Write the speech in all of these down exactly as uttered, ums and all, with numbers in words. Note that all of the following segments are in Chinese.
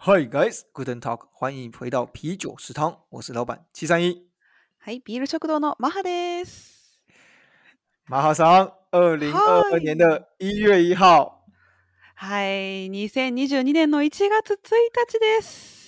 Hi guys, Guten Talk，歡迎回到啤酒食堂，我是老闆七三一。 はい、ビール食堂のマハです。 馬哈桑，二零二二年的一月一號。 はい、にせんにじゅうにねんのいちがつついたちです。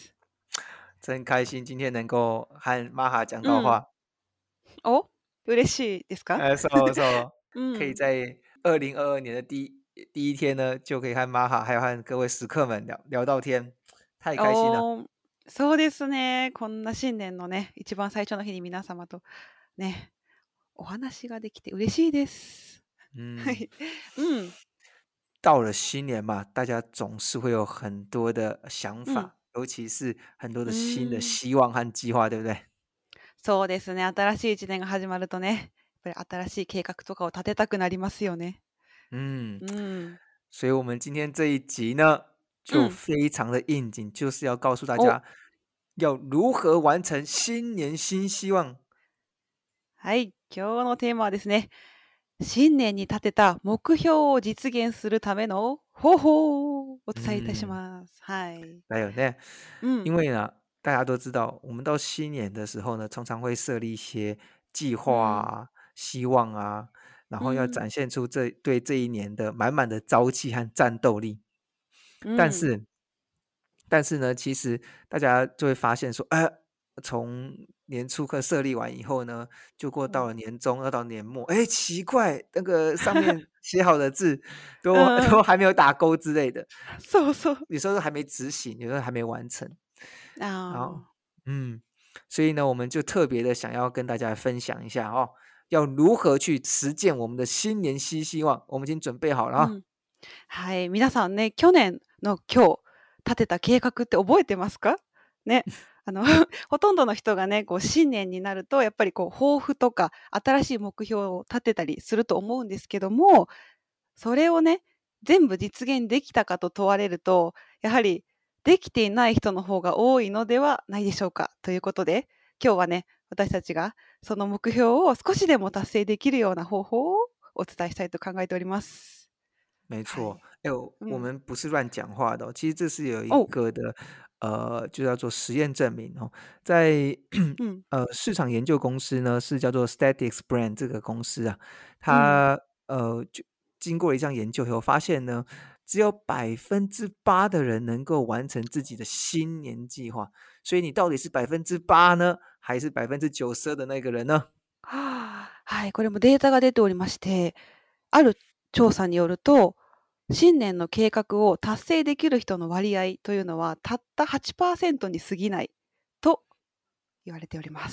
真開心今天能夠和馬哈講到話。 うん、お、嬉しいですか？ 呃，そうそう嗯， 可以在二零二二年的第一第一天呢，就可以和馬哈還有和各位食客們聊聊到天，太開心了。 お、そうですね。こんな新年のね、一番最初の日に皆様とね、お話ができて嬉しいです。 嗯， はい、うん。 到了新年嘛，大家總是會有很多的想法， 嗯尤其是很多的う新的ーん、 希望和計劃，對不對？ そうですね。新しい一年が始まるとね、やっぱり新しい計畫とかを立てたくなりますよね。 嗯， うん。 所以我們今天這一集呢，就非常的應景，就是要告訴大家要如何完成新年新希望。 はい、今日のテーマはですね、新年に立てた目標を実現するための方法をお伝えいたします。はい。 だよね。 うん。 因為呢，大家都知道，我們到新年的時候呢，常常會設立一些計劃啊、希望啊，然後要展現出這對這一年的滿滿的朝氣和戰鬥力。但是，但是呢，其實大家就會發現說，呃，從年初課設立完以後呢，就過到了年中，要到年末，哎，奇怪，那個上面寫好的字都都還沒有打勾之類的。 そうそう。 有時候還沒執行，有時候還沒完成。 あ好，嗯，所以呢，我們就特別的想要跟大家分享一下哦，要如何去實踐我們的新年新希望。我們已經準備好了啊。 うん。はい、皆さんね、去年の今日立てた計画って覚えてますか？ね。あのほとんどの人がね、こう新年になるとやっぱりこう抱負とか新しい目標を立てたりすると思うんですけども、それをね、全部実現できたかと問われると、やはりできていない人の方が多いのではないでしょうか。ということで、今日はね、私たちがその目標を少しでも達成できるような方法をお伝えしたいと考えております。 沒錯，哎、 はい欸，我們不是亂講話的、哦嗯、其實這是有一個的，呃，就叫做實驗證明哦，在呃市場研究公司呢，是叫做 Statics Brand 這個公司啊，它、嗯、呃就經過了一項研究以後，發現呢，只有百分之八的人能夠完成自己的新年計劃，所以你到底是百分之八呢，還是百分之九十二的那個人呢？ はい、これもデータが出ておりまして、ある調査によると、新年の計画を達成できる人の割合というのはたった はちパーセント に過ぎないと言われております。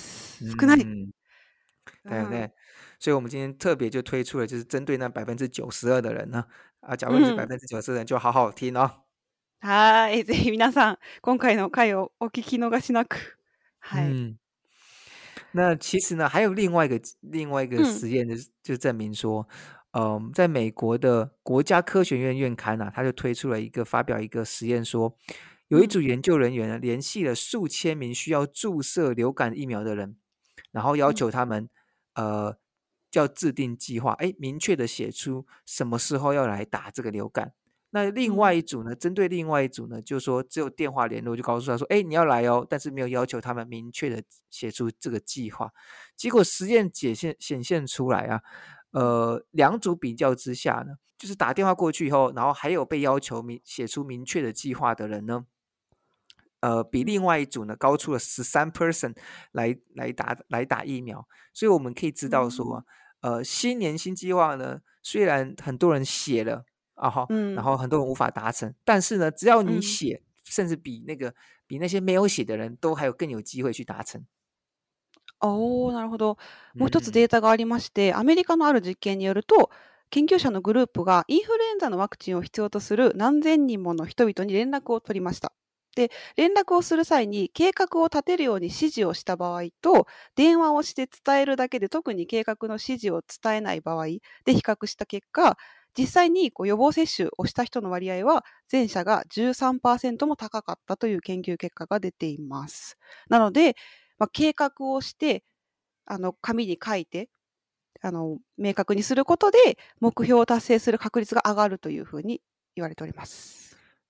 少ない。 だよね。所以我們今天特別就推出了，就是針對那百分之九十二的人呢，啊，假如你是百分之九十的人，就好好聽哦。 はい、ぜひ皆さん今回の回をお聞き逃しなく。はい。 嗯，那其實呢，還有另外一個另外一個實驗就，就就證明說，嗯、呃，在美國的國家科學院院刊啊，他就推出了一個發表一個實驗說，有一組研究人員呢，聯繫了數千名需要注射流感疫苗的人，然後要求他們，呃，要制定計劃，哎，明確的寫出什麼時候要來打這個流感。那另外一組呢，針對另外一組呢，就說只有電話聯絡，就告訴他說，哎，你要來哦，但是沒有要求他們明確的寫出這個計劃。結果實驗解現顯現出來啊，呃，兩組比較之下呢，就是打電話過去以後，然後還有被要求明寫出明確的計劃的人呢，呃，比另外一組呢高出了十三 percent 來來打來打疫苗。所以我們可以知道說，呃，新年新計劃呢，雖然很多人寫了。啊哈，然後很多人無法達成，但是呢，只要你寫，甚至比那個比那些沒有寫的人都還有更有機會去達成。 おー、なるほど。もう一つデータがありまして、アメリカのある実験によると、研究者のグループがインフルエンザのワクチンを必要とする何千人もの人々に連絡を取りました。で、連絡をする際に計画を立てるように指示をした場合と、電話をして伝えるだけで特に計画の指示を伝えない場合で比較した結果、実際にこう予防接種をした人の割合は前者が じゅうさんパーセント も高かったという研究結果が出ています。なので、まあ、計画をしてあの紙に書いてあの明確にすることで目標を達成する確率が上がるというふうに言われております。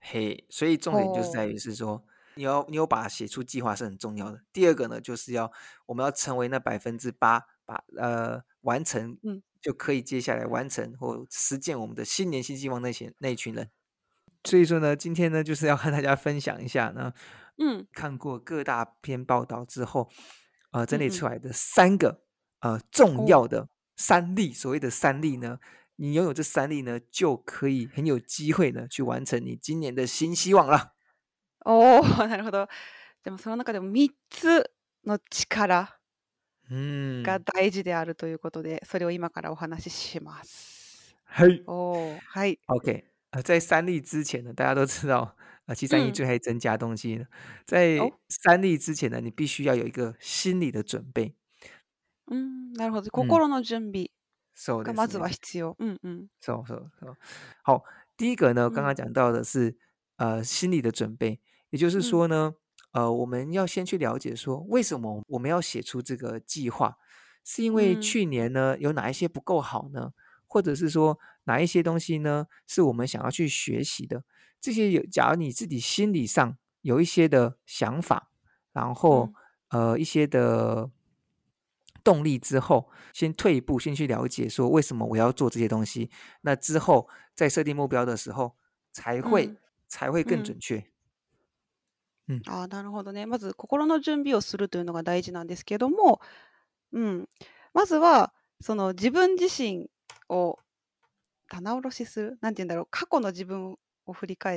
嘿，所以重點就是在於是說，你要你有把它寫出計劃是很重要的。第二個呢，就是要我們要成為那百分之八，把呃完成， 嗯就可以接下來完成或實踐我們的新年新希望那些那一群人。所以說呢，今天呢就是要和大家分享一下呢， 嗯看過各大篇報道之後，呃，整理うんうん出来的三個呃重要的三例，所謂的三例呢，你擁有這三例呢，就可以很有機會呢去完成你今年的新希望了。 おお、なるほど。でもその中でもみっつの力嗯， が大事であるということで、それを今からお話しします。 嘿おお、はい。 ，OK，呃，在三例之前呢，大家都知道，呃，七三一嗯最爱增加東西呢，在お三例之前呢，你必須要有一個心理的準備。 うん、なるほど。 嗯， 心の準備そうですがまずはね。 必要。うんうん。 そうそうそう。好，第一個呢，剛剛嗯講到的是呃心理的準備，也就是嗯說呢，呃，我們要先去了解說，為什麼我們要寫出這個計劃，是因為嗯去年呢有哪一些不夠好呢？或者是說哪一些東西呢是我們想要去學習的？這些有，假如你自己心理上有一些的想法，然後呃一些的動力之後，先退一步，先去了解說為什麼我要做這些東西。那之後在設定目標的時候，才會、 うん才會更準確。 うん、ああ、なるほどね。まず心の準備をするというのが大事なんですけども、うん、まずはその自分自身を棚卸しする、なんて言うんだろう、過去の自分を振り返って、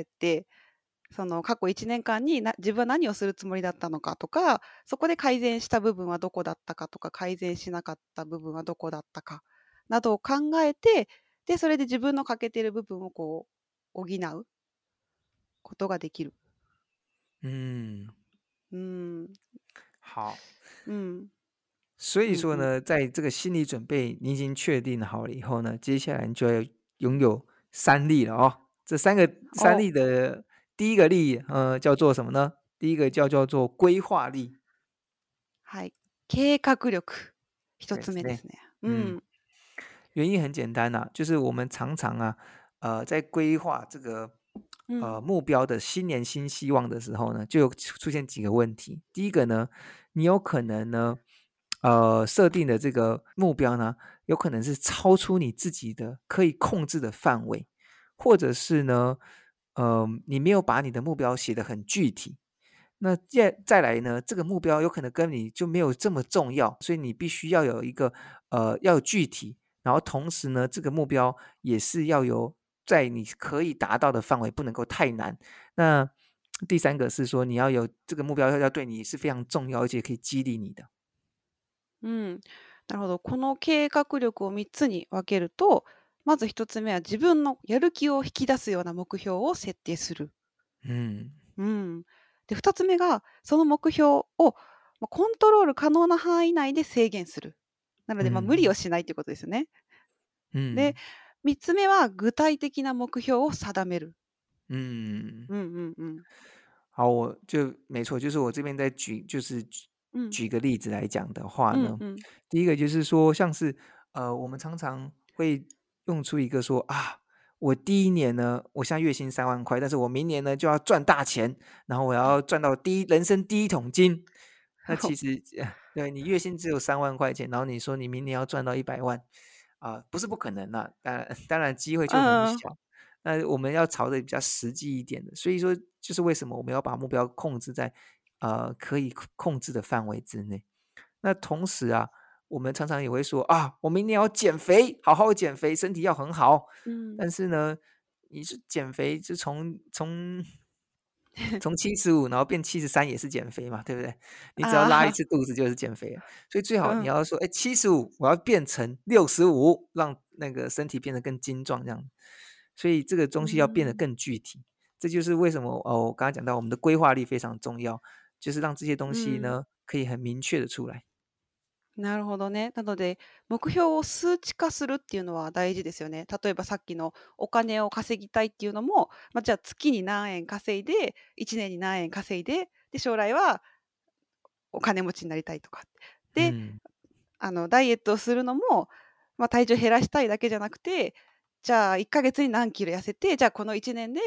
その過去いちねんかんにな自分は何をするつもりだったのかとか、そこで改善した部分はどこだったかとか、改善しなかった部分はどこだったかなどを考えて、でそれで自分の欠けている部分をこう補うことができる。 嗯， うん好。 うん所以說嗯呢，在這個心理準備你已經確定好了以後呢，接下來你就要擁有三例了哦。這三個三例的第一個例，呃，叫做什麼呢？第一個叫叫做規劃力。 はい、計畫力一つ目對ですね。 嗯うん原因很簡單啊，就是我們常常啊，呃，在規劃這個呃うん目標的新年新希望的時候呢，就有出現幾個問題。第一個呢，你有可能呢，呃，設定的這個目標呢，有可能是超出你自己的可以控制的範圍，或者是呢，呃，你沒有把你的目標寫得很具體。那再再來呢，這個目標有可能跟你就沒有這麼重要，所以你必須要有一個呃要有具體，然後同時呢，這個目標也是要有在你可以達到的範圍，不能夠太難。那第三個是說，你要有這個目標要對你是非常重要，而且可以激勵你的。 うん、なるほど。この計画力をみっつに分けると、まずひとつめは自分のやる気を引き出すような目標を設定する。 うん。 うん、でふたつめがその目標をまあコントロール可能な範囲内で制限する。なので、まあ、 うん無理をしないということですよね。 うん。 でみっつめは具体的な目標を定める。 嗯， うんうんうん好，我就沒錯，就是我這邊在舉，就是舉うん舉個例子來講的話呢， うんうん第一個就是說，像是呃，我們常常會用出一個說啊，我第一年呢，我現在月薪三萬塊，但是我明年呢就要賺大錢，然後我要賺到第一人生第一桶金。那其實，對，你月薪只有三萬塊錢，然後你說你明年要賺到一百萬，啊、呃，不是不可能啦，當然當然機會就很小。那我們要朝着比較實際一點的，所以說就是為什麼我們要把目標控制在呃可以控制的範圍之內。那同時啊，我們常常也會說啊，我明年要減肥，好好減肥，身體要很好。 嗯， 但是呢，你是減肥就從從從七十五然後變七十三也是減肥嘛，對不對？你只要拉一次肚子就是減肥了。所以最好你要說，哎，七十五我要變成六十五，讓那個身體變得更精壯這樣。所以這個東西要變得更具體，嗯、這就是為什麼哦，我剛剛講到我們的規劃力非常重要，就是讓這些東西呢、嗯、可以很明確的出來。 なるほどね。なので目標を数値化するっていうのは大事ですよね。例えばさっきのお金を稼ぎたいっていうのも、まあ、じゃあ月に何円稼いでいちねんに何円稼いで、で将来はお金持ちになりたいとかで、うん、あのダイエットをするのも、まあ、体重減らしたいだけじゃなくて、じゃあいっかげつに何キロ痩せて、じゃあこのいちねんで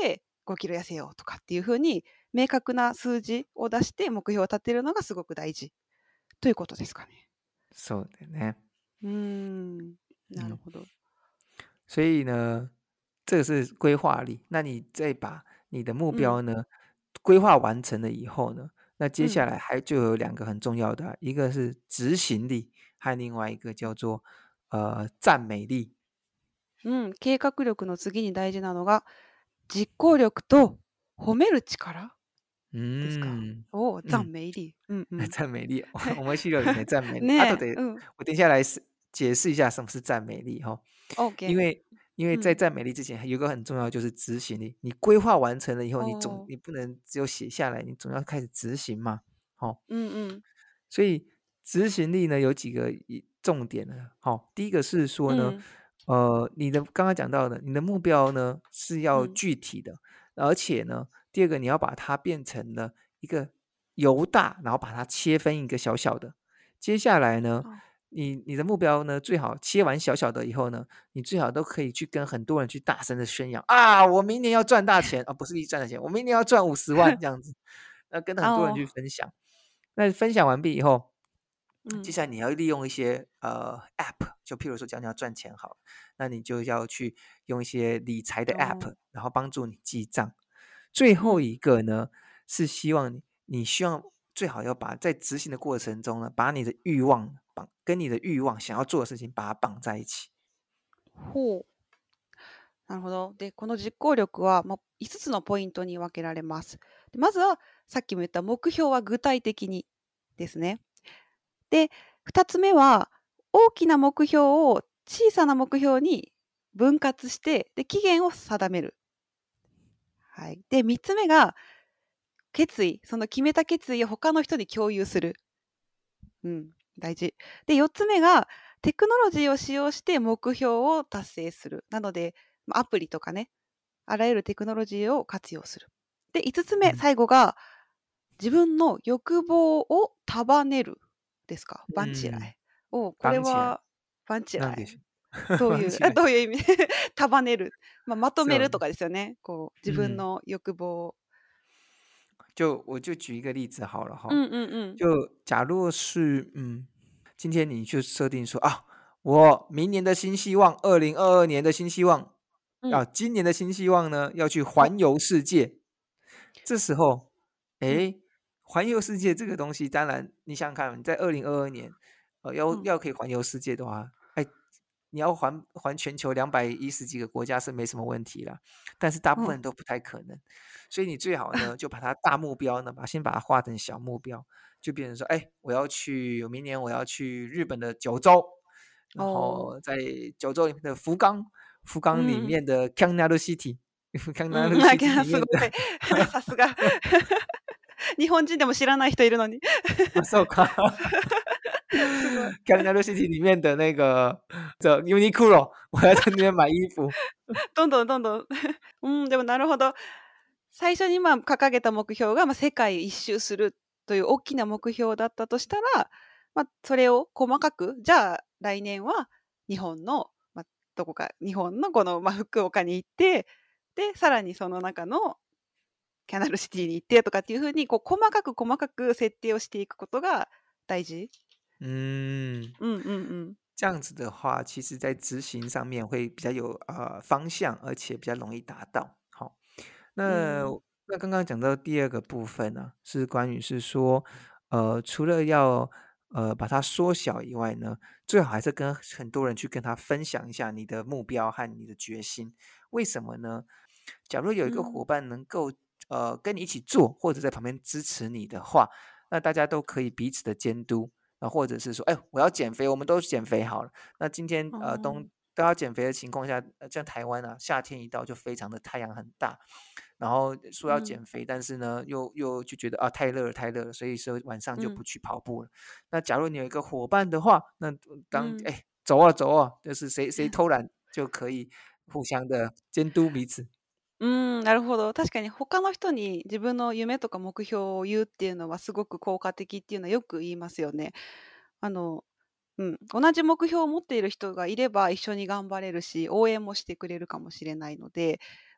ごキロ痩せようとかっていうふうに明確な数字を出して目標を立てるのがすごく大事ということですかね。 そうだね。 うーん、なる嗯， ほど。 所以呢，这个是规划力。那你再把你的目うん、 标呢规划完成了以後呢，那接下うん、 來還就有兩個很重要的啊，一個是執行力，和另外一個叫做呃讚美力。 うん、計画力の次に大事なのが実行力と褒める力ですか。 嗯おお、讚嗯， 美力。うんうん。 讚美力，我們系統裡面讚美力。後ねえ、 でうん。 我等一下來是解釋一下什麼是讚美力哈。因 OK。 為因為在うん。 讚美力之前，有一個很重要就是執行力。你規劃完成了以後，你總おー你不能只有寫下來，你總要開始執行嘛。好， うんうん。 所以執行力呢有幾個一重點呢。好，第一個是說呢， うん。 呃，你的剛剛講到的，你的目標呢是要うん。 具體的，而且呢，第二個你要把它變成了一個由大，然後把它切分一個小小的。接下來呢， あ你你的目標呢，最好切完小小的以後呢，你最好都可以去跟很多人去大聲的宣揚啊，我明年要賺大錢啊，不是一賺大錢，我明年要賺五十萬這樣子，那跟很多人去あ分享。那分享完畢以後， ー、うん。 接下來你要利用一些呃 App， 就譬如說講你要賺錢好了，那你就要去用一些理財的 App， おー然後幫助你記賬。最後うん。 一個呢，是希望你你希望最好要把在執行的過程中呢，把你的慾望綁跟你的慾望想要做的事情把它綁在一起。 ほう。なるほど。で、この実行力は、まあ、いつつのポイントに分けられます。でまずは、さっきも言った目標は具体的にですね。で、ふたつめは、大きな目標を小さな目標に分割して、で、期限を定める。はい。で、みっつめが、決意。その決めた決意を他の人に共有する。うん、大事。で、よっつめが、テクノロジーを使用して目標を達成する。なので、まあアプリとかね、あらゆるテクノロジーを活用する。で、いつつめ、 うん最後が、自分の欲望を束ねるですか。バンチラうんイ。おこれ绑起来。 は、バンチライ。 なんでしょう。 どういう、 绑起来。 どういう意味束ねる。まあ、まとめそうるとかですよね。こう、自分の欲望を。 就我就舉一個例子好了哈。 うんうんうん。 就假如是嗯，今天你就設定說啊，我明年的新希望，二零二二年的新希望， 嗯啊，今年的新希望呢，要去環遊世界。這時候，誒，環遊世界這個東西，當然你想想看，你在二零二二年，呃，要嗯要可以環遊世界的話，哎，你要環環全球兩百一十幾個國家是沒什麼問題啦，但是大部分人都不太可能。所以你最好呢，就把它大目標呢，把先把它畫成小目標，就變成說，哎，我要去，明年我要去日本的九州，然後在九州裡面的福岡，福岡裡面的 Kangnaru City， Kangnaru City 裡面的， さすが。日本人でも知らない人いるのに。 そうか。Kangnaru City 裡面的那個這 Uniqlo， 我要在那邊買衣服。 どんどんどんどん。うん、でもなるほど。最初にまあ掲げた目標がまあ世界一周するという大きな目標だったとしたら、まあ、それを細かく、じゃあ来年は日本の、まあ、どこか、日本のこの、まあ、福岡に行って、で、さらにその中のキャナルシティに行ってとかっていうふうに、こう細かく細かく設定をしていくことが大事。 嗯， 嗯嗯嗯， 這樣子的話，其實在執行上面會比較有呃方向，而且比較容易達到。好，那、 嗯那剛剛講到第二個部分呢、啊，是關於是說，呃，除了要呃把它縮小以外呢，最好還是跟很多人去跟他分享一下你的目標和你的決心。為什麼呢？假如有一個夥伴能夠、嗯、呃跟你一起做，或者在旁邊支持你的話，那大家都可以彼此的監督。啊，或者是說，哎，我要減肥，我們都減肥好了。那今天呃冬都要減肥的情況下，像台灣啊，夏天一到就非常的太陽很大，然後說要減肥，嗯、但是呢又又就覺得啊太熱了太熱了，所以說晚上就不去跑步了。嗯、那假如你有一個夥伴的話，那當哎、嗯、走啊走啊，就是誰誰偷懶就可以互相的監督彼此。 うん、なるほど。確かに他の人に自分の夢とか目標を言うっていうのはすごく効果的っていうのはよく言いますよね。あの、うん、同じ目標を持っている人がいれば一緒に頑張れるし、応援もしてくれるかもしれないので、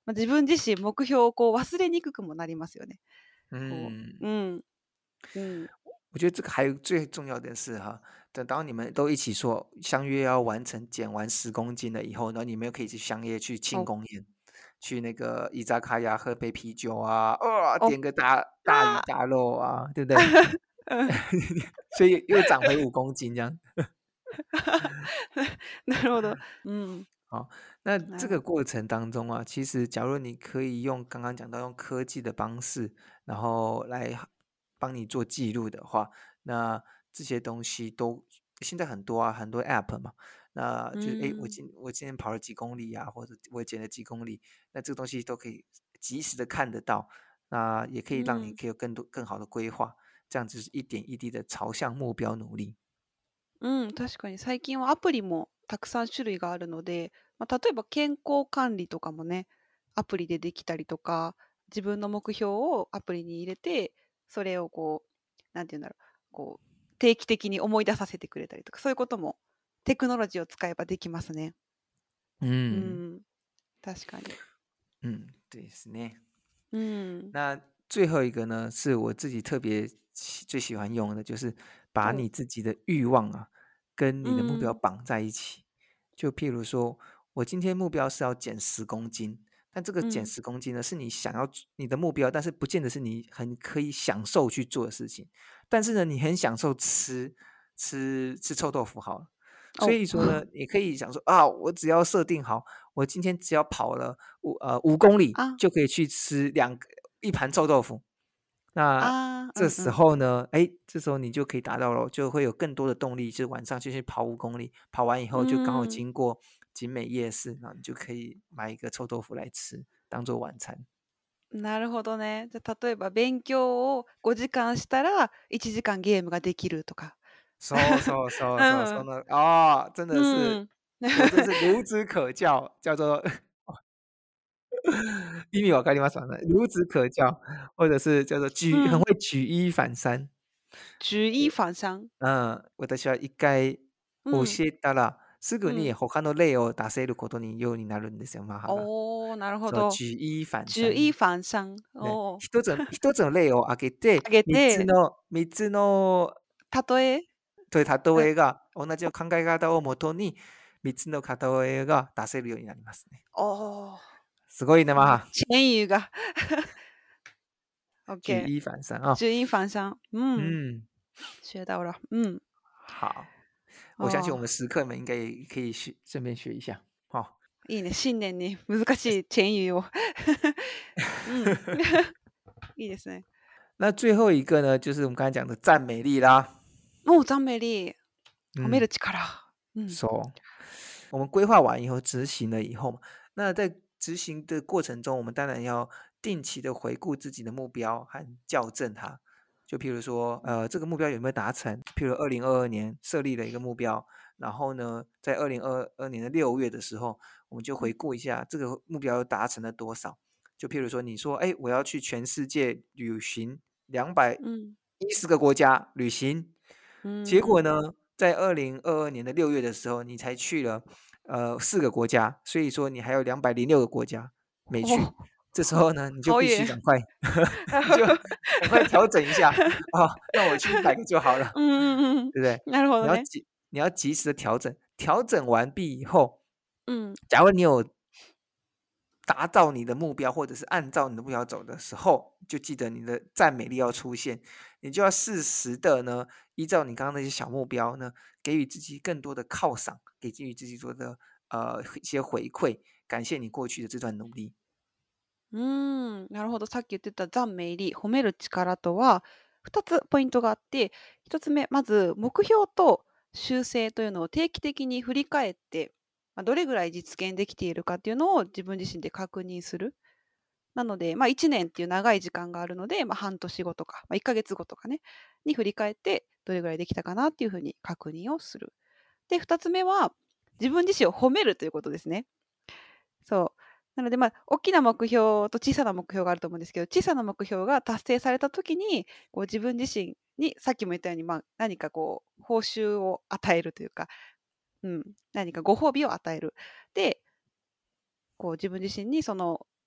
まあ、自分自身目標をこう忘れにくくもなりますよね。こ嗯， う、うん、うん、 我觉得这个还有最重要的是哈，等到你们都一起说相约要完成减完十公斤了以后，然後你們又可以去相約去慶お、 功宴，去那個伊扎卡亞喝杯啤酒啊，哦， お、 點個大大魚あ大肉啊，對不對？ ーうん所以又長回五公斤這樣。 なるほど。うん。 好，那なるほど。 這個過程當中啊，其實假如你可以用剛剛講到用科技的方式，然後來幫你做記錄的話，那這些東西都現在很多啊，很多 app 嘛，那就是誒，我今我今天跑了幾公里啊，或者我減了幾公里，那這個東西都可以及時的看得到，那也可以讓你可以有更多更好的規劃，這樣子是一點一滴的朝向目標努力。 うん、確かに最近はアプリもたくさん種類があるので、まあ、例えば健康管理とかもね、アプリでできたりとか、自分の目標をアプリに入れて、それをこう、なんていうんだろう、こう、定期的に思い出させてくれたりとか、そういうこともテクノロジーを使えばできますね。 ううんん、確かに。 嗯，對ですね。 うん。 那最後一個呢，是我自己特別喜最喜歡用的，就是把你自己的慾望啊，跟你的目標綁在一起。就譬如說，我今天目標是要減十公斤，但這個減十公斤呢，是你想要你的目標，但是不見得是你很可以享受去做的事情。但是呢，你很享受吃吃吃臭豆腐好了。所以說呢，你可以想說啊，我只要設定好，我今天只要跑了五呃五公里，就可以去吃兩個一盤臭豆腐。那這時候呢，哎，這時候你就可以達到了，就會有更多的動力，就是晚上就去跑五公里，跑完以後就剛好經過景美夜市，然後你就可以買一個臭豆腐來吃，當做晚餐。 なるほどね。じゃあ例えば勉強をごじかんしたらいちじかんゲームができるとか。 そうそうそうそう、その啊、哦，真的是，我真是孺子可教，叫做意味わかりますかね？孺子可教，或者是叫做舉、嗯、很會舉一反三。 舉一反三。 嗯、私は一回教えたら、すぐに他の例を出せることにようになるんですよ、マハが。 おー、なるほど。 舉一反三。 舉一反三。 おー。一つ一つの例を挙げて、 挙げて三つの三つの例え。 という例えが同じ考え方をもとに三つの例えが出せるようになりますね。 おー。 すごいね、マハ。 前語が。 舉一反三啊！ 舉一反三，嗯嗯， 學到了，嗯， 好，我相信我們食客們應該也可以學，順便學一下。好， いいね、新年に難しい前語を。嗯，いいですね。 那最後一個呢，就是我們剛才講的讚美力啦。 哦，讚美力，褒める力。 嗯，そう。我們規劃完以後，執行了以後，那在執行的過程中，我們當然要定期的回顧自己的目標和校正它。就譬如說，呃，這個目標有沒有達成？譬如二零二二年設立了一個目標，然後呢，在二零二二年的六月的時候，我們就回顧一下這個目標達成了多少。就譬如說，你說，哎，我要去全世界旅行兩百一十個國家旅行， 嗯， 結果呢，在二零二二年的六月的時候，你才去了呃四個國家，所以說你還有兩百零六個國家沒去。哦，這時候呢，你就必須趕快，你就趕快調整一下啊，哦，那我去一百個就好了。 嗯嗯嗯， 對不對？ なるほどね。 你要及你要及時的調整，調整完畢以後， 嗯， 假如你有達到你的目標，或者是按照你的目標走的時候，就記得你的讚美力要出現，你就要適時的呢，依照你剛剛那些小目標呢，給予自己更多的犒賞，給予自己多的呃一些回饋，感謝你過去的這段努力。 うーん、なるほど。さっき言ってた讚美力、褒める力とはふたつポイントがあって、ひとつめ、まず目標と修正というのを定期的に振り返って、まあ、どれぐらい実現できているかっていうのを自分自身で確認する。なので、まあ、いちねんっていう長い時間があるので、まあ、半年後とか、まあ、いっかげつごとかね、に振り返って、どれぐらいできたかなっていうふうに確認をする。で、ふたつめは、自分自身を褒めるということですね。そう。なので、まあ、大きな目標と小さな目標があると思うんですけど、小さな目標が達成されたときに、こう自分自身に、さっきも言ったように、まあ、何かこう、報酬を与えるというか、うん、何かご褒美を与える。で、こう自分自身にその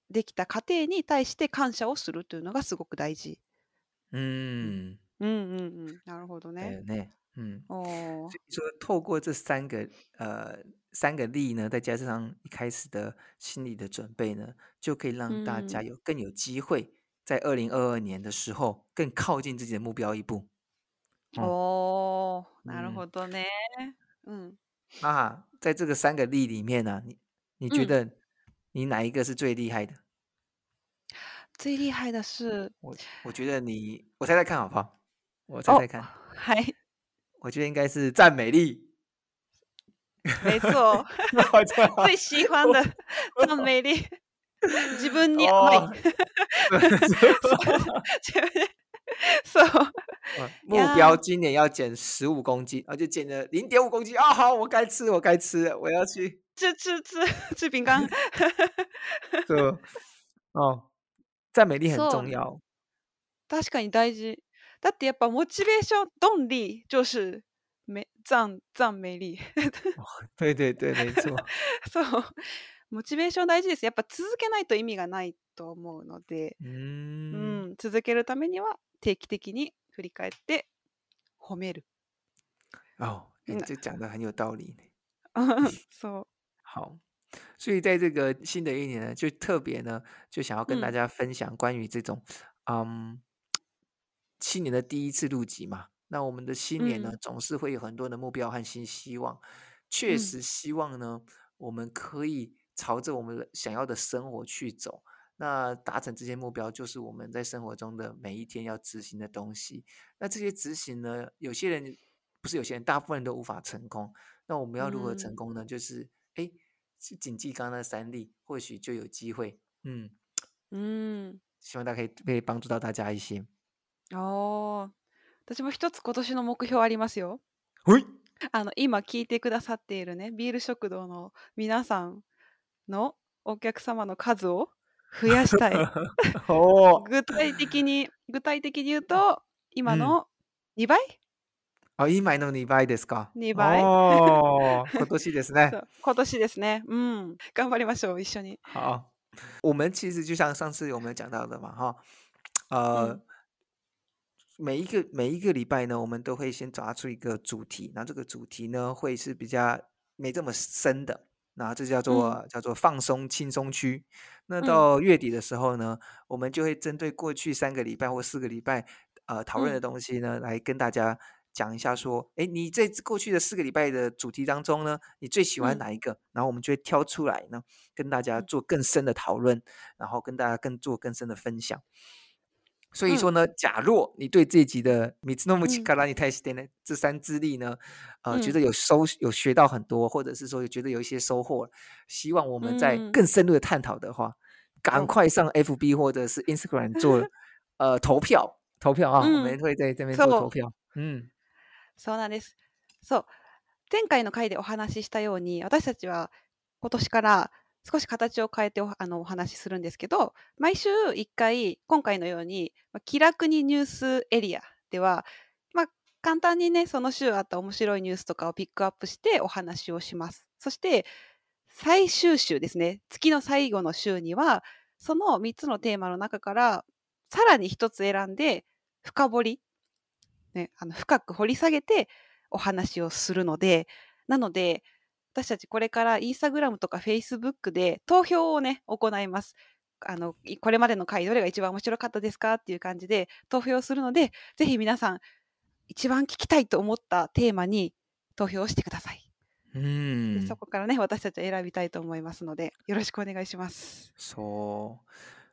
できた過程に対して感謝をするというのがすごく大事。嗯嗯， うんうんうん。なるほどね。 对呢，嗯， 哦， 所以说透过这三个呃三个力呢，再加上一開始的心理的準備呢，就可以う讓大家ん。 有更有機會在二零二二年的時候更靠近自己的目標一步。哦， おー、なる嗯， ほどね。うん。 啊，在這個三個力裡面呢、啊，你你覺嗯， 得你哪一個是最厲害的？ 最厲害的是我我覺得你，我猜猜看好不好？我猜猜哦， 看， はい、 我覺得應該是讚美力。 沒錯。最喜歡的讚美力。自分に甘い。 哦， そう自分でそう。 呃， いや目標今年要減十五公斤，而且減了零點五公斤啊！好，我該吃，我該吃了，我要去吃吃吃吃餅乾。 這哦，讚美力很そう。 重要。 確かに大事。だってやっぱモチベーション動力就是め讚讚美力。 對對對，沒錯。 そう。モチベーション大事です。やっぱ続けないと意味がないと思うので、 ううーん。 ん、続けるためには定期的に振り返って褒める。 哦，哎， 那這講的很有道理呢。 そう。 好，所以在這個新的一年呢，就特別呢，就想要跟大嗯家分享關於這種，嗯，新年的第一次錄集嘛。那我們的新年呢， 嗯總是會有很多的目標和新希望。確嗯實希望呢，我們可以朝着我們想要的生活去走。那達成這些目標，就是我們在生活中的每一天要執行的東西。那這些執行呢，有些人不是有些人，大部分人都無法成功。那我們要如何成功呢？就是哎，去謹記剛剛那三力，或許就有機會。嗯うん希望大家可以可以幫助到大家一些。 ああ、私も一つ今年の目標ありますよ。 ほいあの今聞いてくださっているね、ビール食堂の皆さんのお客様の数を増やしたい。 おー具体的に具体的に言うと今うん。 のにばいあ、今のにばいですか。 にばい哦，今年ですそね。 う今年ですね。うん。頑張りましょう、一緒に。 好，我們其實就像上次我們講到的嘛，哈，呃， 嗯每一個每一個禮拜呢，我們都會先抓出一個主題，然後這個主題呢會是比較沒這麼深的，然後這叫做、 嗯叫做放鬆輕鬆區。那嗯到月底的時候呢，我們就會針對過去三個禮拜或四個禮拜呃討論的東西呢，來跟大家講一下說，哎，你在過去的四個禮拜的主題當中呢，你最喜歡哪一個？嗯、然後我們就會挑出來呢，跟大家做更深的討論，然後跟大家更做更深的分享。所以說呢，嗯、假若你對這集的三つの道からに対して呢，這三支力呢，呃，覺得有收有學到很多，或者是說有覺得有一些收穫，希望我們在更深入的探討的話，嗯、趕快上 F B 或者是 Instagram 做呃投票投票啊，嗯、我們會在這邊做投票。嗯， そうなんです。そう。前回の回でお話ししたように、私たちは今年から少し形を変えて お, あのお話しするんですけど、毎週いっかい、今回のように、まあ、気楽にニュースエリアでは、まあ、簡単にね、その週あった面白いニュースとかをピックアップしてお話をします。そして、最終週ですね、月の最後の週には、そのみっつのテーマの中から、さらにひとつ選んで、深掘り、ね、あの深く掘り下げてお話をするので、なので、私たちこれからインスタグラムとかフェイスブックで投票をね、行います。あの、これまでの回どれが一番面白かったですかっていう感じで投票するので、ぜひ皆さん、一番聞きたいと思ったテーマに投票をしてください。 嗯， でそこからね、私たちは選びたいと思いますので、よろしくお願いします。 そう。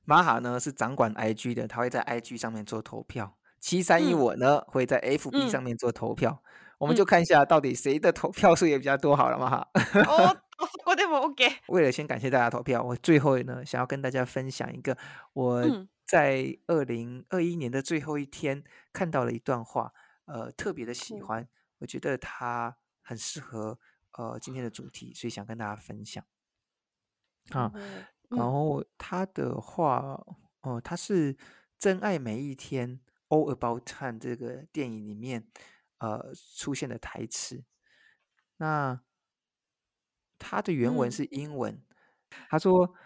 馬哈呢是掌管 I G 的，他會在 I G 上面做投票。七三一我呢、嗯、會在 F B 上面做投票。嗯我們就看一下到底誰的投票數也比較多好了嘛哈。 哦，そこでも OK。 為了先感謝大家投票，我最後呢想要跟大家分享一個我在二零二一年的最後一天看到了一段話，呃，特別的喜歡，嗯、我覺得它很適合呃今天的主題，所以想跟大家分享。啊，嗯、然後他的話，哦、呃，他是真愛每一天 All About Time 這個電影裡面。呃，出現的台詞，那他的原文是英文。嗯、他說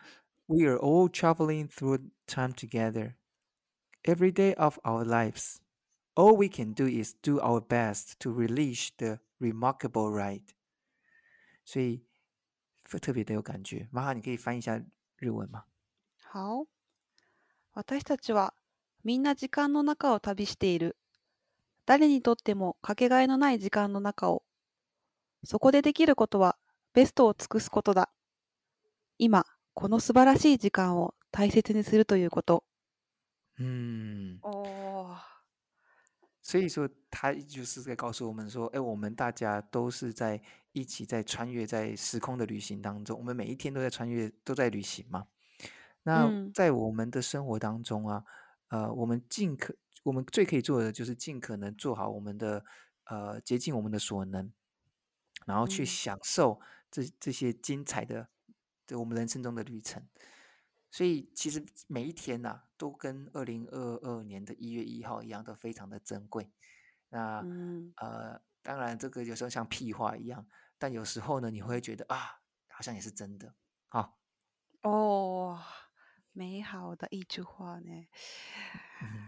We are all traveling through time together. Every day of our lives. All we can do is do our best to relish the remarkable ride. 所以特別的有感覺。マハ你可以翻譯一下日文嗎？ 好。私たちはみんな時間の中を旅している。誰にとってもかけがえのない時間の中を。そこでできることはベストを尽くすことだ。今、この素晴らしい時間を大切にするということ。 嗯， 哦， 所以说他就是在告訴我們說，哎，我們大家都是在一起在穿越在時空的旅行當中，我們每一天都在穿越，都在旅行嘛。那在我們的生活當中啊，呃，我們盡可，我們最可以做的就是盡可能做好我們的，呃，竭盡我們的所能，然後去享受這這些精彩的，對我們人生中的旅程。所以其實每一天吶、啊，都跟二零二二年的一月一號一樣，都非常的珍貴。那、嗯、呃，當然這個有時候像屁話一樣，但有時候呢，你會覺得啊，好像也是真的。好， 哦，美好的一句話呢。 嗯，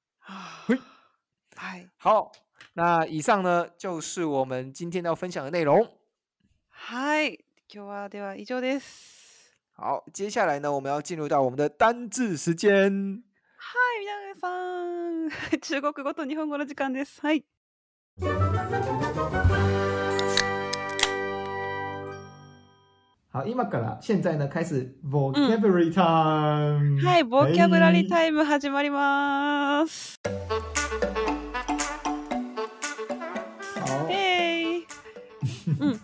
はい。 好，那以上呢就是我們今天要分享的內容。 はい、今日はでは以上です。 好，接下來呢，我們要進入到我們的單字時間。 はい、皆さん、中國語と日本語の時間です。はい。 好，今から現在呢開始 vocabulary time、 うん、はい、ボキャブラリータイム始まります。 好。 嘿、hey 嗯。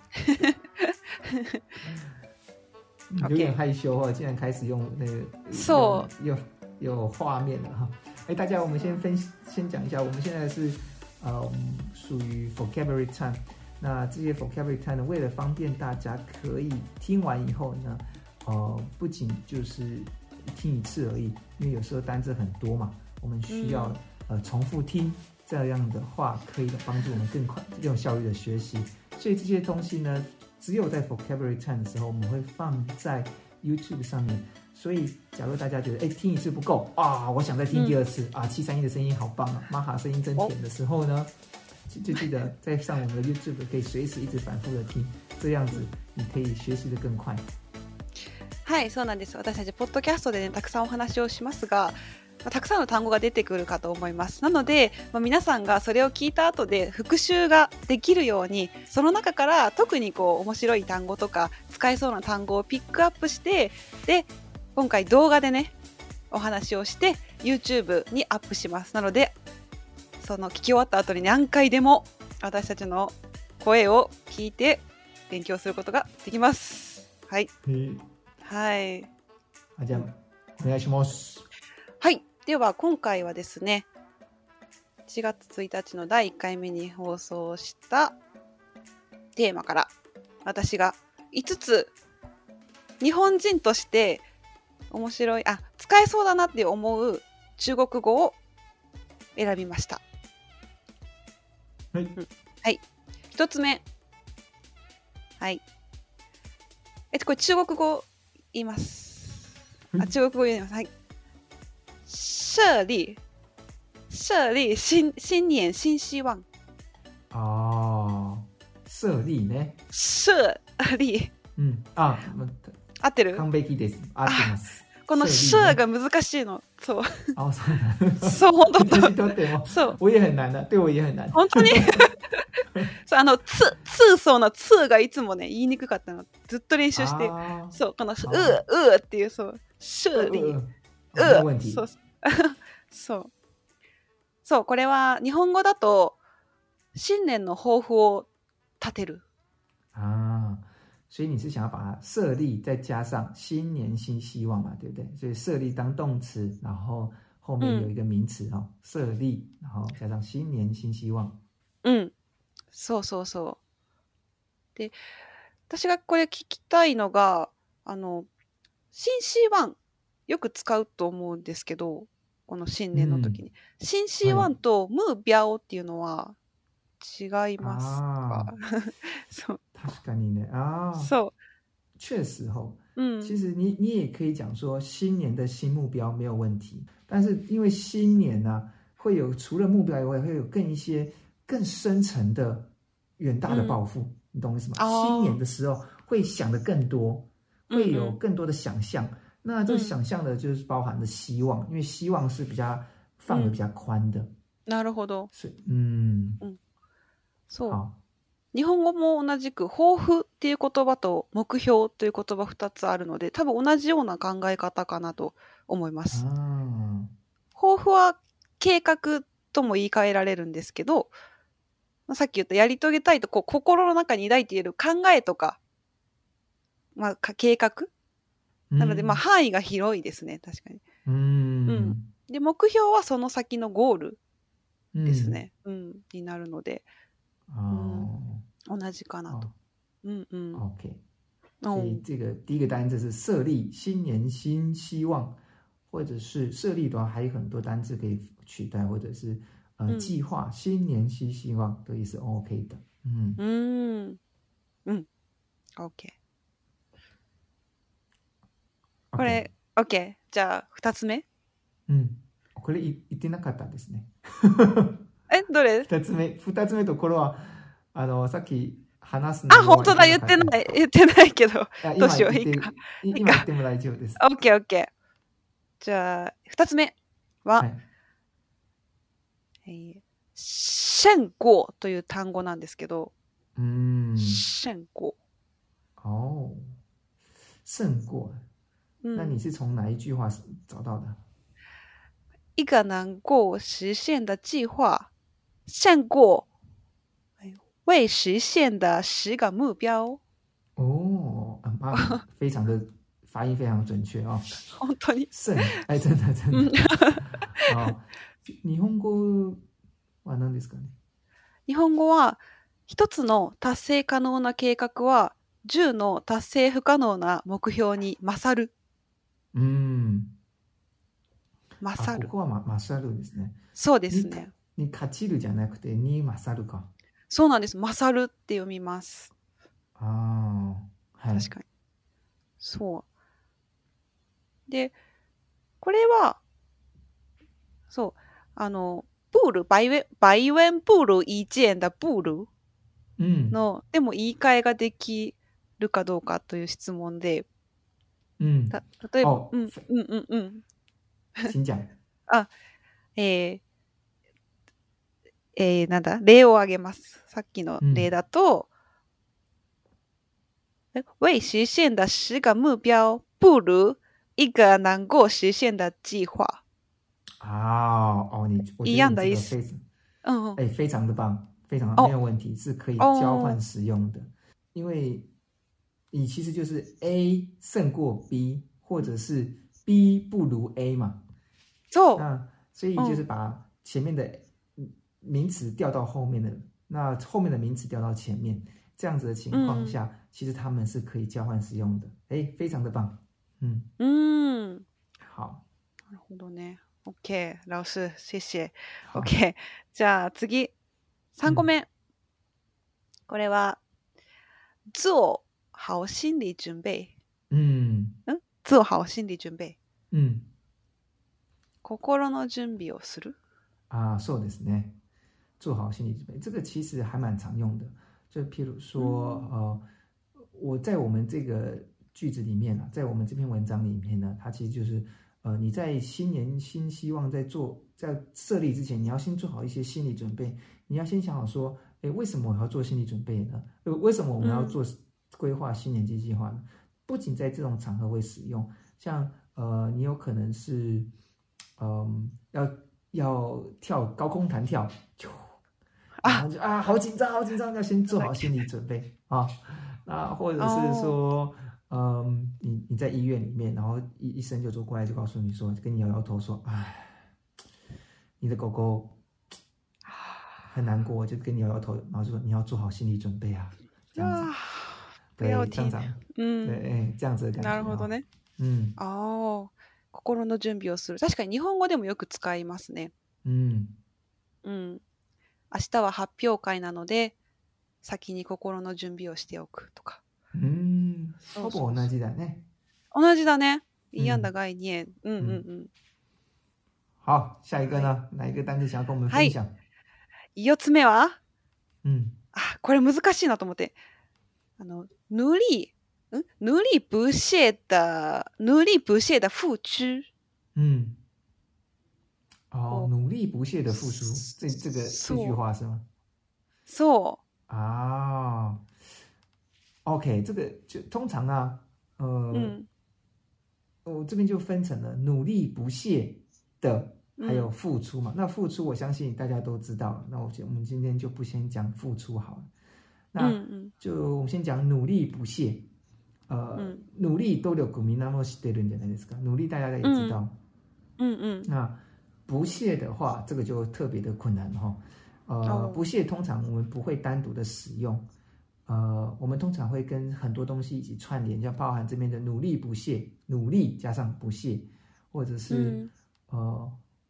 有點害羞哈，竟然開始用那個 So 有有畫面了哈。哎，大家，我們先分先講一下，我們現在是呃屬於 vocabulary time。那這些 vocabulary time 呢，為了方便大家可以聽完以後呢，呃，不僅就是聽一次而已，因為有時候單字很多嘛，我們需要、嗯、呃重複聽，這樣的話可以幫助我們更快、更有效率的學習。所以這些東西呢，只有在 vocabulary time 的時候，我們會放在 YouTube 上面。所以，假如大家覺得，哎，聽一次不夠啊，我想再聽第二次、嗯、啊，七三一的聲音好棒啊，瑪哈聲音真甜的時候呢，哦、就記得再上我們的 YouTube， 可以隨時一直反覆的聽，這樣子你可以學習得更快。 はい、そうなんです。私たちポッドキャストでね、たくさんお話をしますが、まあ、たくさんの単語が出てくるかと思います。なので、まあ、皆さんがそれを聞いた後で復習ができるように、その中から特にこう面白い単語とか使えそうな単語をピックアップして、で、今回動画でね、お話をして YouTube にアップします。なので、その聞き終わった後に何回でも私たちの声を聞いて勉強することができます。はい。はい。 じゃあ、お願いします。 はい。では今回はですね、しがつついたちのだいいっかいめに放送したテーマから私がいつつ日本人として面白い、あ、使えそうだなって思う中国語を選びました。 はい。 うん、はい。一つ目。はい。えっと、これ中国語言います。あ、中国語言います。はい。設立設立 新, 新年新希望。 ああ、設立ね。 設立。 うん。あ、 合ってる？ 完璧です。合ってます。 この設が難しいの。そう。 あ、そうなん。 そう、本当。 私とっても。 そう。 我也很難的。對我也很難。 本当にそう、あの、つ、つそうのつがいつもね、言いにくかったの。ずっと練習して。そう、このう、うっていう、そう。設立。う。そう。そう。そう、これは日本語だと新年の抱負を立てる。 啊，所以你是想要把它設立，再加上新年新希望嘛，對不對？所以設立當動詞，然後後面有一個名詞、嗯、哦，設立，然後加上新年新希望。 うん、そうそうそう。で、私がこれ聞きたいのが、あの新希望よく使うと思うんですけど、この新年の時に、うん、新希望と目標っていうのは違いますか？そう。 確かにね。ああ。 そう。 確實哦。 嗯， 其實你你也可以講說新年的新目標沒有問題，但是因為新年呢、啊，會有除了目標以外，會有更一些更深層的遠大的抱負，嗯、你懂我意思嗎？哦、新年的時候會想得更多，會有更多的想象。嗯嗯那這個想象的就是包含的希望，嗯、因為希望是比較範圍比較寬的。 なるほど。 是，嗯， 嗯，そう。 好。 日本語も同じく抱負っていう言葉と目標という言葉二つあるので、多分同じような考え方かなと思います。抱負は計画とも言い換えられるんですけど、さっき言ったやり遂げたいとこう心の中に抱いている考えとか、まあ、計画なので、まあ、範囲が広いですね、確かに。うん。うん、で、目標はその先のゴールですね。うん、うん、になるので、うん、同じかなと。嗯嗯 ，OK。所以這個第一個單字是設立，新年新希望，或者是設立的話，還有很多單字可以取代，或者是呃計劃，新年新希望都也是 OK 的。嗯嗯嗯 ，OK。これ、OK。じゃあ、二つ目。 うん。これ言ってなかったですね。 え、どれ？ 二つ目。二つ目とこれは、あの、さっき話すのは。 あ、本当だ、言ってない。言ってないけど。どうしよう、いいか。 今言っても大丈夫です。 OK、OK。じゃあ、二つ目は、はい、えー、勝過という単語なんですけど、 うん。 勝過。 哦。勝過。那你是從哪一句話找到的？ 一個能夠實現的計劃，勝過未實現的十個目標。 哦，啊，非常的發音非常準確哦。 本當に。 勝，哎，真的真的。好，日本語は何ですかね？ 日本語は一つの達成可能な計画は十の達成不可能な目標に勝る。 うん。 勝る。 ここは、ま、勝るですね。 そうですね。 に、に勝ちるじゃなくて、に勝るか。 そうなんです。勝るって読みます。 ああ、はい。 確かに。そう。で、これは、そう、あの、プール、バイウェン、バイウェンプール一円だプールの、うん、でも言い換えができるかどうかという質問で、 うん、 た例えば、うん、うんうんうん。 请講。 あ、えー、えー、なんだ例を挙げます。さっきの例だと、嗯、未實現的十個目標不如一個能夠實現的計劃。 啊，哦，你一樣的意思。 嗯，哎，非常的棒，非常的沒有問題，是可以交換使用的。因為你其實就是 A 勝過 B， 或者是 B 不如 A 嘛。 そう。 那所以就是把前面的名詞調到後面的，那後面的名詞調到前面，這樣子的情況下，嗯、其實他們是可以交換使用的。哎，非常的棒。嗯嗯，好。 なるほどね。OK、老師、謝謝。OK。じゃあ次、さんこめ。うん、これは、做好心理準備。 うん。 ん做好心理準備。 うん。 心の準備をする。 啊，そうですね。做好心理準備，這個其實還蠻常用的。就譬如說，嗯、呃，我在我們這個句子裡面啊，在我們這篇文章裡面呢，它其實就是，呃，你在新年新希望在做在設立之前，你要先做好一些心理準備。你要先想好說，誒，為什麼我要做心理準備呢？為什麼我們要做規劃新年計計劃呢？不僅在這種場合會使用，像呃，你有可能是。嗯，要要跳高空彈跳，然後就啊，好緊張，好緊張，要先做好心理準備啊。那或者是說，哦、嗯，你你在醫院裡面，然後醫醫生就走過來，就告訴你說，跟你搖搖頭說，哎，你的狗狗很難過，就跟你搖搖頭，然後就說你要做好心理準備啊，這樣子，對，這樣子，嗯，對，這樣子的感覺。 なるほどね。 嗯， 哦。心の準備をする。確かに日本語でもよく使いますね。 うん。 うん。明日は発表会なので、先に心の準備をしておくとか。 うん。ほぼ同じだね。 同じだね。一樣的概念。嗯嗯嗯。 好，下一個呢？哪一個單詞想要跟我們分享？ 四つ目は、 うん。 あ、これ難しいなと思って。あの、努力、ん努力不懈的、努力不懈的付出。 嗯。哦，努力不懈的付出，這這個這句話是嗎？ そう。 啊。OK， 這個就通常啊，呃，嗯，我這邊就分成了努力不懈的，還有付出嘛。嗯、那付出我相信大家都知道了，那我我們今天就不先講付出好了。那就我們先講努力不懈。呃，嗯、努力努力みんなも知ってるんじゃないですか。努力大家也知道。嗯嗯。嗯那不懈的話，這個就特別的困難哈。呃，哦、不懈通常我們不會單獨的使用。呃，我們通常會跟很多東西一起串聯，像包含這邊的努力不懈，努力加上不懈，或者是、嗯、呃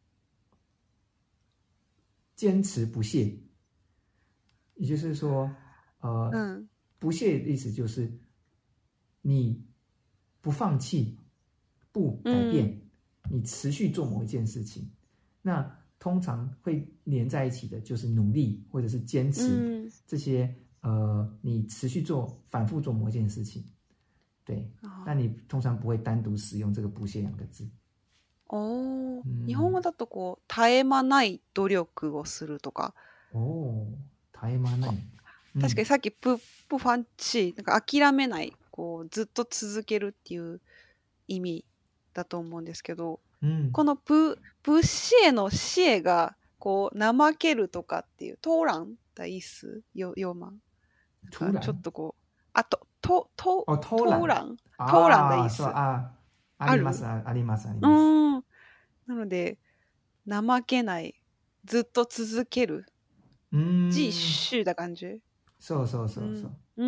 堅持不懈。也就是說，呃，嗯、不懈的意思就是你不放棄、不改變，嗯、你持續做某一件事情。那通常會連在一起的，就是努力或者是堅持、嗯、這些。呃，你持續做、反覆做某一件事情，對，那你通常不會單獨使用這個不懈兩個字。 哦，嗯、日本語だとこう絶え間ない努力をするとか。 お絶え間ない。 確かにさっき不不放棄、なんか諦めない、こうずっと続けるっていう意味だと思うんですけど、うん、この不不懈の懈がこう怠けるとかっていう偷懶的意思有有嗎？ちょっとこう、あと、と、と、 哦、偷懶、 偷懶的意思。 あ、あります、あります、あります。うん。 なので、怠けない、ずっと続ける。うん。继续的感じ。 そうそうそうそう。 うん。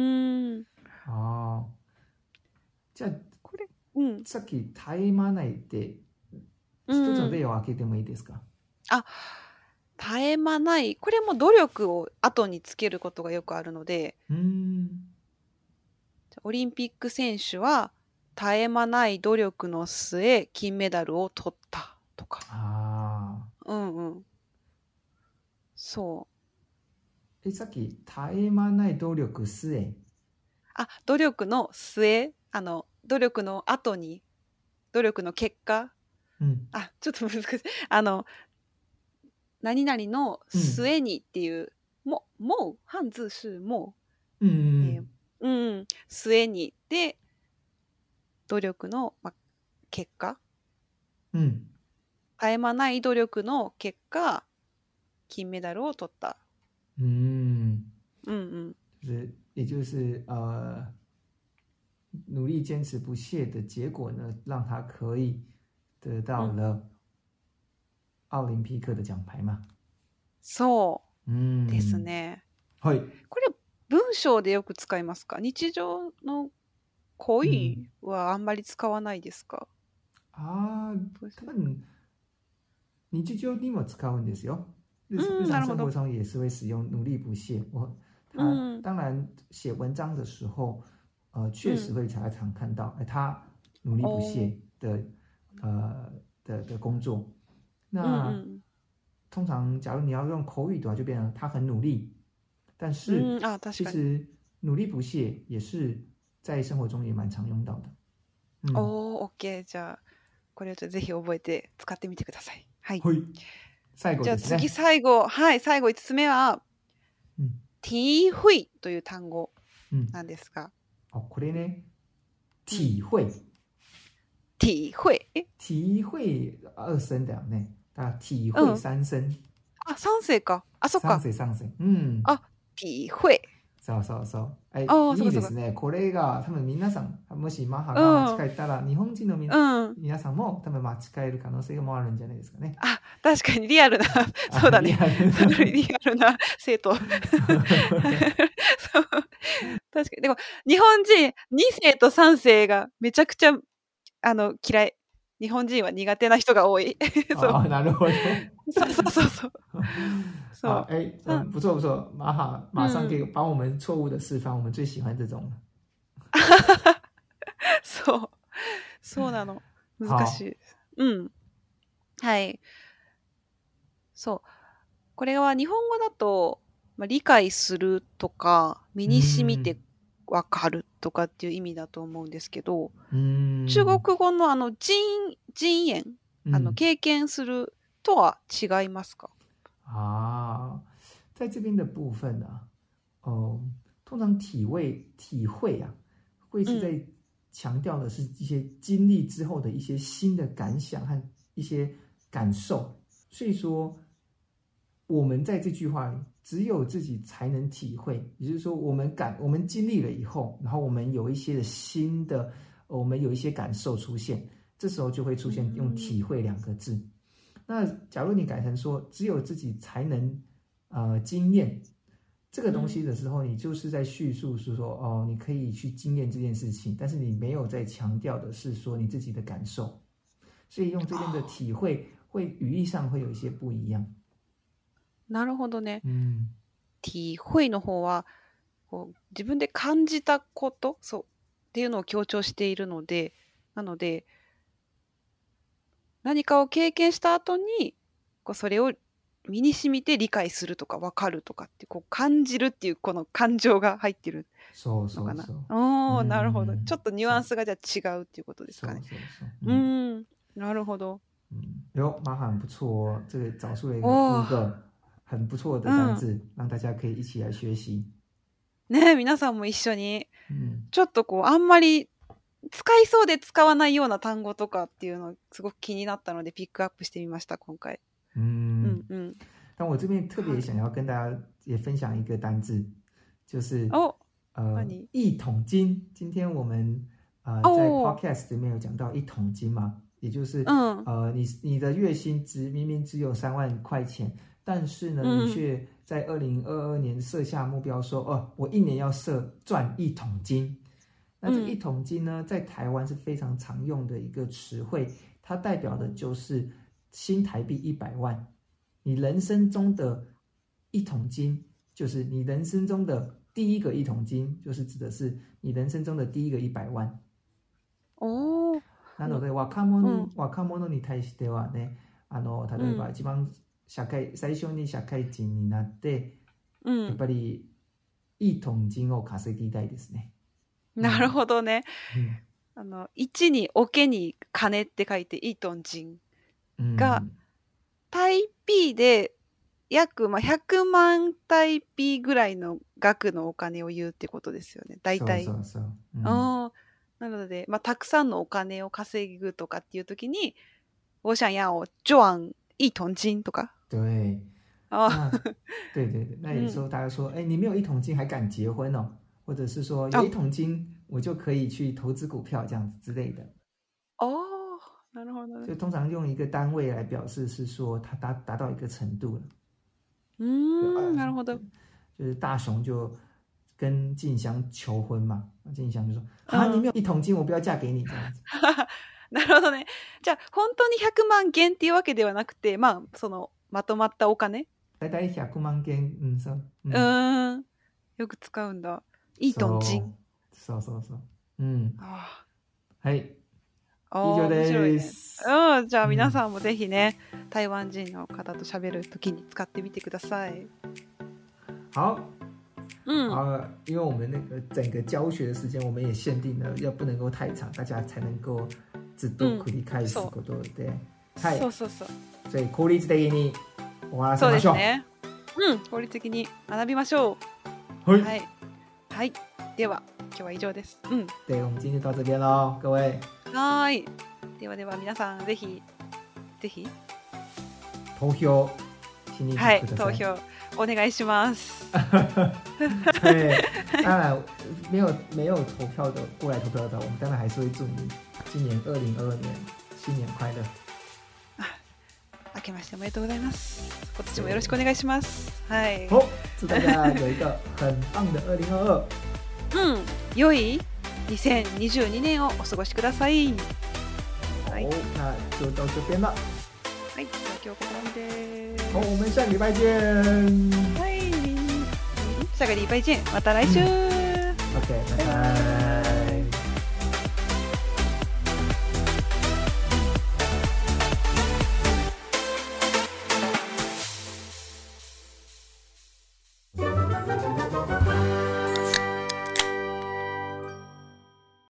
ああ。じゃあ、これ、うん、さっき、絶え間ないって、一つの例を開けてもいいですか？ あ、絶え間ない。これも努力を後につけることがよくあるので、 うんオリンピック選手は絶え間ない努力の末金メダルを取ったとか。 ああ。 うんうん。そう。 え、さっき絶え間ない努力末。 あ、努力の末、あの努力の後に、努力の結果。 うん、 あ、ちょっと難しい。あの。何々の末にっていう、うん、も、もう、漢字是もう、うんえーうん、末にで、努力の、ま、結果、 うん、 絶え間ない努力の結果、金メダルを取った。 うん。 嗯嗯。 就是也就是呃，努力堅持不懈的結果呢，讓他可以得到了、嗯。奧林匹克的獎牌嘛？ そうですね。 はい。 これ文章でよく使いますか？日常の恋はあんまり使わないですか？ うん、ああ、多分日常にも使うんですよ。日日常生活中也是會使用努力不懈。我他、嗯、當然寫文章的時候，呃，確實會常常看到，哎、嗯，他努力不懈的，哦、呃的的工作。那、嗯、通常，假如你要用口語的話，就變成他很努力。但是， 嗯啊、 其實努力不懈也是在生活中也蠻常用到的。 嗯、おー、OK。じゃあ、これをぜひ覚えて使ってみてください。はい。 はい。最後ですね。 じゃあ次最後、はい、最後いつつめは、 うん、 体會という単語なんですが。 うん、あ、これね、體會。 体會。え體會二聲だよね。だから體會三聲。うん、 あ、三声か。あ、そっか。 三声三声。うん。 あ、体会。 そうそうそう。え、いいですね。これが多分皆さん、もしマハが間違えたら、うん、日本人のみ、うん、皆さんも多分間違える可能性もあるんじゃないですかね。 あ、確かにリアルな、そうだね。リアルな、リアルな生徒。そう。確かに。でも、日本人、に声とさん声がめちゃくちゃ、あの、嫌い。日本人は苦手な人が多い。 そうあ、なるほど。 そうそうそうそう。 好，哎，嗯，不錯不錯，馬哈馬上給幫我們錯誤的示範，嗯、我們最喜歡這種。 そう。 そうなの。難しい。うん。はい。そう。これは日本語だと、まあ、理解するとか、身に染みてわかるとかっていう意味だと思うんですけど、中国語のあの人人演、あの経験するとは違いますか？ 啊，在这边的部分呢、啊，哦、呃，通常体味体会啊，会是在强調的是一些經歷之後的一些新的感想和一些感受，所以說我們在這句話裡，只有自己才能體會，也就是說，我們感我們經歷了以後，然後我們有一些的新的，我們有一些感受出現，這時候就會出現用體會兩個字。嗯、那假如你改成說，只有自己才能呃經驗這個東西的時候，你就是在敘述是說，哦，你可以去經驗這件事情，但是你沒有在強調的是說你自己的感受，所以用這邊的體會，會語義上會有一些不一樣。 なるほどね。 うん、 體會の方はこう自分で感じたことそうっていうのを強調しているので、なので何かを経験した後にこうそれを身に染みて理解するとか分かるとかってこう感じるっていうこの感情が入ってるのかな。そうそうそう。おー、なるほど。ちょっとニュアンスがじゃあ違うっていうことですかね。そうそうそう。うん、なるほど。 嗯，喲，馬很不錯哦，這個找出了一個五個很不錯的單字、嗯、讓大家可以一起來學習。 ねえ、皆さんも一緒に、うん、ちょっとこうあんまり使いそうで使わないような単語とかっていうのすごく気になったのでピックアップしてみました今回。 嗯嗯嗯。但我這邊特別想要跟大家也分享一個單字，就是哦， 呃一桶金。今天我們呃在 podcast 裡面有講到一桶金嘛。也就是，嗯、呃，你你的月薪值明明只有三萬塊錢，但是呢，嗯、你卻在二零二二年設下目標說，哦、呃，我一年要設賺一桶金。那這一桶金呢，在台灣是非常常用的一個詞彙，它代表的就是新台幣一百萬。你人生中的一桶金，就是你人生中的第一個一桶金，就是指的是你人生中的第一個一百萬。 哦。 なので若者、若者に対してはね、あの例えば一番社会、うん、最初に社会人になって、うん、やっぱりいいトン金を稼ぎたいですね。 なるほどね。うん、あの一に桶に金って書いていいトン金が、うん、タイピーで約、まあ、ひゃくまんタイピーぐらいの額のお金を言うってことですよね。大体。そうそうそう。うん、あなので、まあ、たくさんのお金を稼ぐとかっていう時に、我想要賺一桶金とか。 對。啊，對對對。那有時候大家說，哎、嗯，你沒有一桶金還敢結婚哦？或者是說有一桶金我就可以去投資股票這樣子之類的。 哦，なるほど。 就通常用一個單位來表示，是說它達達到一個程度了。 嗯，なるほど。 就是大雄就跟靜香求婚嘛，靜香就說：“啊，你沒有一桶金，我不要嫁給你。”這樣子。 なるほどね。じゃあ本当にひゃくまん元っていうわけではなくて、まあそのまとまったお金。 だいたいひゃくまん元、うんそう。 うん。うんよく使うんだ。一桶金。 そうそうそう。うん。 あはい。以上です。 ね、うん。じゃあ皆さんもぜひね、うん、台灣人の方と喋るときに使ってみてください。 好。嗯，啊，因為我們那個整個教學的時間，我們也限定了，要不能夠太長，大家才能夠ずっと繰り返すことで、はい、 そうそうそう。 所以効率的に終わらせましょう。そうですね。 うん、効率的に學びましょう。はい。 はい。はい。では今日は以上です。うん。 對，我們今天就到這邊嘍，各位。 はい。ではでは皆さんぜひぜひ投票しにはい、投票お願いします。 對，當然沒有沒有投票的過來投票的，我們當然還是會祝你今年二零二二年新年快樂。 明けましておめでとうございます。今年もよろしくお願いします。はい。 好，祝大家有一個很棒的二零二二。 嗯，良いにせんにじゅうにねんをお過ごしください。 好，那就到這邊了。 はい、今日はここまで。 好，我們下個禮拜見。 はい。下個禮拜見。また來週。 嗯、OK，拜拜。